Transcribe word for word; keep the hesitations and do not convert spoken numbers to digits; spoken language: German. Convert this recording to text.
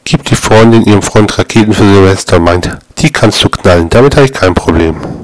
gibt die Freundin ihrem Freund Raketen für Silvester und meint, die kannst du knallen, damit habe ich kein Problem.